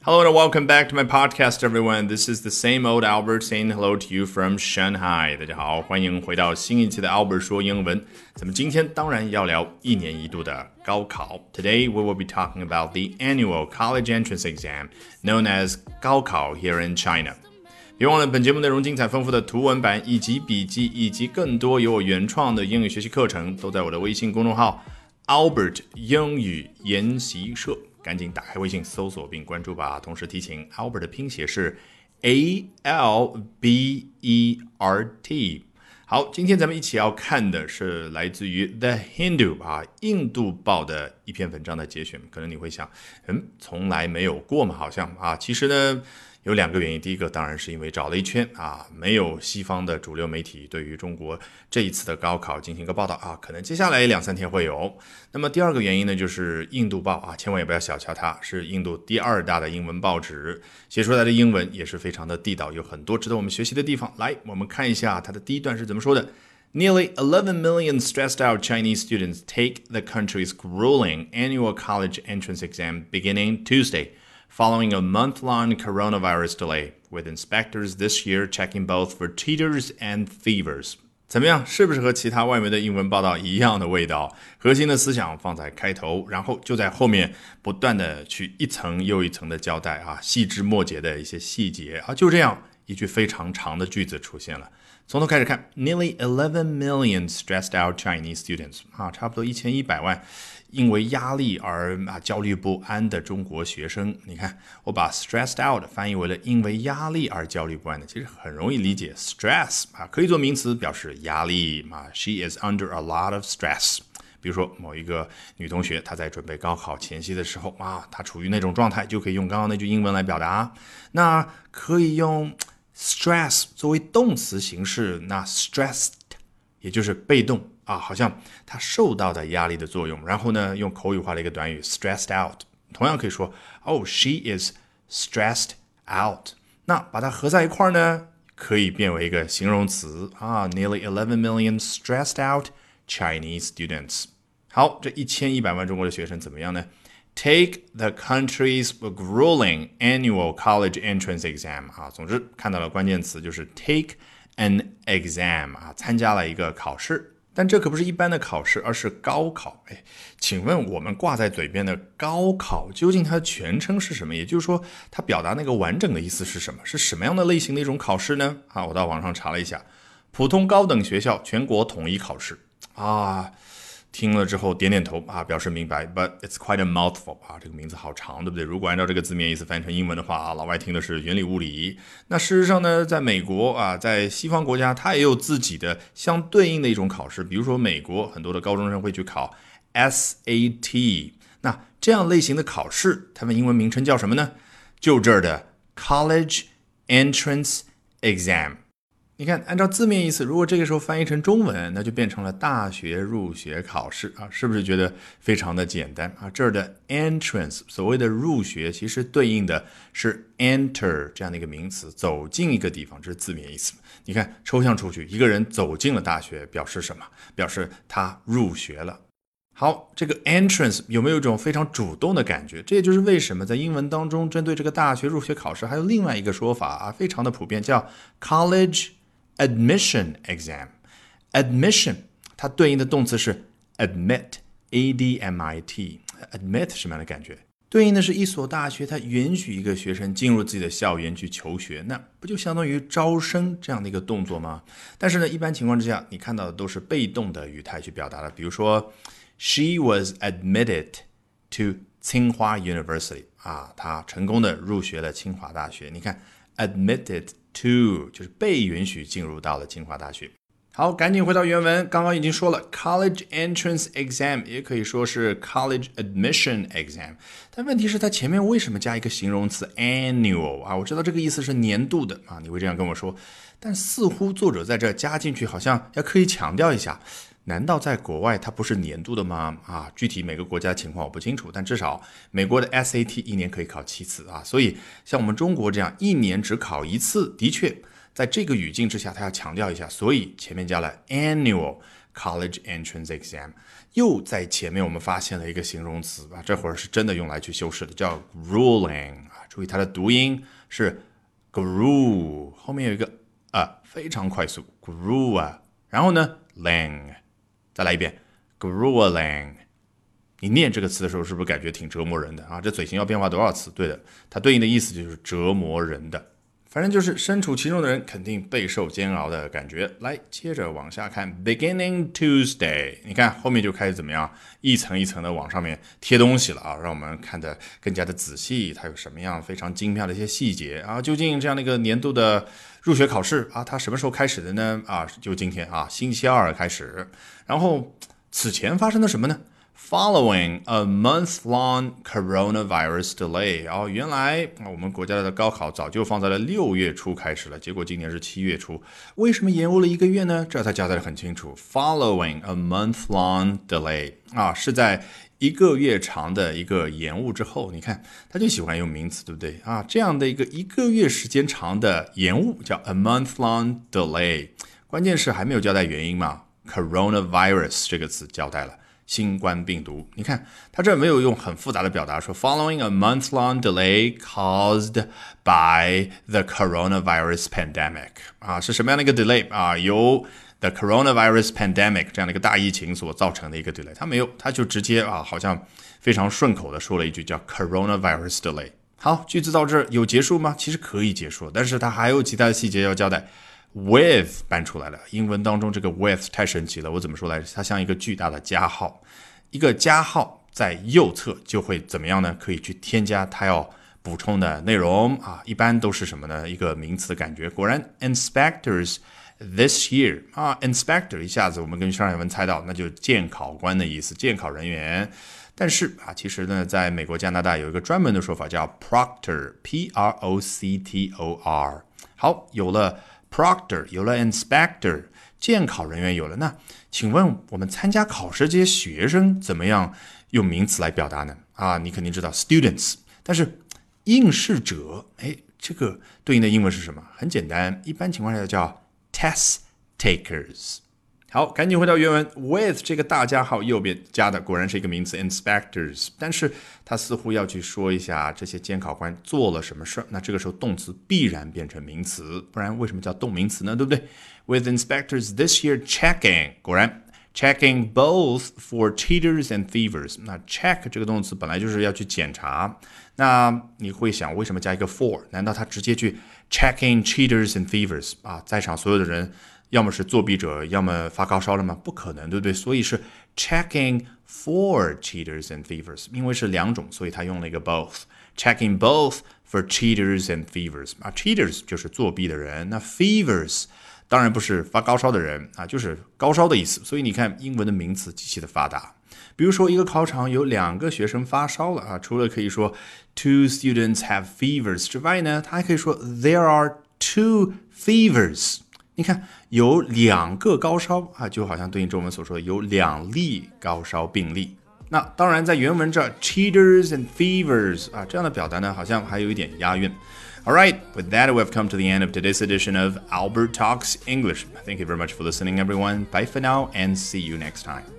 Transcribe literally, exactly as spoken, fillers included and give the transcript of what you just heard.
Hello and welcome back to my podcast, everyone. This is the same old Albert saying hello to you from Shanghai. 大家好，欢迎回到新一期的 Albert 说英文。咱们今天当然要聊一年一度的高考。Today we will be talking about the annual college entrance exam, known as 高考 here in China. 别忘了，本节目内容精彩丰富的图文版以及笔记，以及更多由我原创的英语学习课程，都在我的微信公众号 Albert 英语研习社。赶紧打开微信搜索并关注吧。同时提醒 Albert 的拼写是 A L B E R T。 好，今天咱们一起要看的是来自于 The Hindu 啊，印度报的一篇文章的节选。可能你会想，嗯，从来没有过嘛，好像啊，其实呢有两个原因。第一个当然是因为找了一圈啊，没有西方的主流媒体对于中国这一次的高考进行一个报道啊，可能接下来两三天会有。那么第二个原因呢，就是印度报啊，千万也不要小瞧它，是印度第二大的英文报纸，写出来的英文也是非常的地道，有很多值得我们学习的地方。来，我们看一下它的第一段是怎么说的。Nearly eleven million stressed-out Chinese students take the country's grueling annual college entrance exam beginning Tuesday.Following a month-long coronavirus delay, with inspectors this year checking both for cheaters and thievers. 怎么样，是不是和其他外媒的英文报道一样的味道？核心的思想放在开头，然后就在后面不断的去一层又一层的交代啊，细枝末节的一些细节啊，就这样一句非常长的句子出现了。从头开始看 ，Nearly eleven million stressed-out Chinese students 啊，差不多一千一百万。因为压力而啊焦虑不安的中国学生，你看我把 stressed out 翻译为了因为压力而焦虑不安的，其实很容易理解。stress 啊可以做名词表示压力啊 ，she is under a lot of stress。比如说某一个女同学，她在准备高考前夕的时候啊，她处于那种状态，就可以用刚刚那句英文来表达。那可以用 stress 作为动词形式，那 stressed 也就是被动。啊，好像他受到的压力的作用，然后呢，用口语化的一个短语 stressed out， 同样可以说 Oh, she is stressed out。 那把它合在一块呢，可以变为一个形容词啊 Nearly eleven million stressed out Chinese students。 好，这一千一百万中国的学生怎么样呢？ Take the country's grueling annual college entrance exam 啊，总之看到了关键词就是 take an exam 啊，参加了一个考试。但这可不是一般的考试，而是高考。哎，请问我们挂在嘴边的高考，究竟它的全称是什么？也就是说，它表达那个完整的意思是什么？是什么样的类型的一种考试呢？啊，我到网上查了一下，普通高等学校全国统一考试啊。听了之后点点头啊，表示明白。But it's quite a mouthful 啊，这个名字好长，对不对？如果按照这个字面意思翻译成英文的话啊，老外听的是云里雾里。那事实上呢，在美国啊，在西方国家，它也有自己的相对应的一种考试。比如说美国很多的高中生会去考 S A T， 那这样类型的考试，它们英文名称叫什么呢？就这儿的 College Entrance Exam。你看，按照字面意思，如果这个时候翻译成中文，那就变成了大学入学考试啊，是不是觉得非常的简单啊？这儿的 entrance 所谓的入学，其实对应的是 enter 这样的一个名词，走进一个地方，这是字面意思。你看，抽象出去，一个人走进了大学，表示什么？表示他入学了。好，这个 entrance 有没有一种非常主动的感觉？这也就是为什么在英文当中，针对这个大学入学考试，还有另外一个说法啊，非常的普遍，叫 college Admission exam。 Admission 它对应的动词是 admit A D M I T。 Admit 什么样的感觉？对应的是一所大学它允许一个学生进入自己的校园去求学，那不就相当于招生这样的一个动作吗？但是呢，一般情况之下你看到的都是被动的语态去表达的。比如说 She was admitted to 清华 University 啊，她成功的入学了清华大学。你看 admitted to 就是被允许进入到了清华大学。好，赶紧回到原文，刚刚已经说了 college entrance exam 也可以说是 college admission exam， 但问题是它前面为什么加一个形容词 annual 啊？我知道这个意思是年度的啊，你会这样跟我说，但似乎作者在这加进去好像要刻意强调一下，难道在国外它不是年度的吗？啊，具体每个国家情况我不清楚，但至少美国的 S A T 一年可以考七次啊，所以像我们中国这样一年只考一次，的确在这个语境之下，他要强调一下，所以前面加了 annual college entrance exam， 又在前面我们发现了一个形容词啊，这会儿是真的用来去修饰的，叫 grueling 啊， 注意它的读音是 grew， 后面有一个啊，非常快速 grew 啊，然后呢 lang， 再来一遍 grew a lang。你念这个词的时候，是不是感觉挺折磨人的啊？这嘴型要变化多少次？对的，它对应的意思就是折磨人的。反正就是身处其中的人肯定备受煎熬的感觉。来，接着往下看 ，Beginning Tuesday， 你看后面就开始怎么样，一层一层的往上面贴东西了啊，让我们看得更加的仔细，它有什么样非常精妙的一些细节啊？究竟这样的一个年度的入学考试啊，它什么时候开始的呢？啊，就今天啊，星期二开始。然后此前发生了什么呢？Following a month-long coronavirus delay， 哦，原来我们国家的高考早就放在了六月初开始了，结果今年是七月初，为什么延误了一个月呢？这它交代得很清楚 ，Following a month-long delay， 啊，是在一个月长的一个延误之后，你看他就喜欢用名词，对不对啊？这样的一个一个月时间长的延误叫 a month-long delay， 关键是还没有交代原因嘛 ，coronavirus 这个词交代了。新冠病毒，你看他这没有用很复杂的表达说 following a month-long delay caused by the coronavirus pandemic 啊，是什么样的一个 delay 啊？由 the coronavirus pandemic 这样的一个大疫情所造成的一个 delay， 他没有，他就直接啊，好像非常顺口的说了一句叫 coronavirus delay。好，句子到这儿有结束吗？其实可以结束，但是它还有其他的细节要交代。with 搬出来了，英文当中这个 with 太神奇了，我怎么说来着？它像一个巨大的加号，一个加号在右侧就会怎么样呢？可以去添加它要补充的内容啊，一般都是什么呢？一个名词的感觉。果然 inspectors this year 啊 inspector 一下子我们跟上一文猜到，那就是监考官的意思，监考人员。但是啊，其实呢，在美国、加拿大有一个专门的说法叫 proctor P R O C T O R。好，有了Proctor 有了 inspector 监考人员有了，那请问我们参加考试这些学生怎么样用名词来表达呢？啊，你肯定知道 students， 但是应试者，哎，这个对应的英文是什么？很简单，一般情况下叫 test takers。好，赶紧回到原文 with 这个大加号右边加的果然是一个名词 inspectors， 但是他似乎要去说一下这些监考官做了什么事，那这个时候动词必然变成名词，不然为什么叫动名词呢？对不对？ With inspectors this year checking， 果然 checking both for cheaters and thievers， 那 check 这个动词本来就是要去检查，那你会想为什么加一个 for， 难道他直接去 checking cheaters and thievers 啊？在场所有的人要么是作弊者，要么发高烧了吗？不可能，对不对？所以是 checking for cheaters and thievers， 因为是两种，所以他用了一个 both， checking both for cheaters and thievers 啊 cheaters 就是作弊的人，那 thievers 当然不是发高烧的人啊，就是高烧的意思。所以你看英文的名词极其的发达。比如说一个考场有两个学生发烧了啊，除了可以说 two students have fevers 之外呢，他还可以说 there are two fevers。你看有两个高烧啊，就好像对应中文所说的有两例高烧病例。那当然在原文这 cheaters and thievers 啊这样的表达呢，好像还有一点押韵。Alright, with that we've come to the end of today's edition of Albert Talks English. Thank you very much for listening, everyone. Bye for now and see you next time.